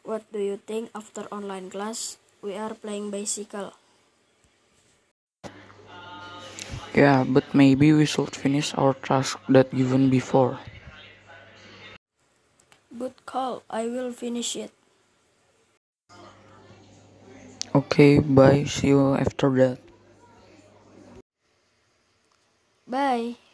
What do you think after online class? We are playing bicycle. Yeah, but maybe we should finish our task that given before. Good call. I will finish it. Okay, bye. See you after that. Bye.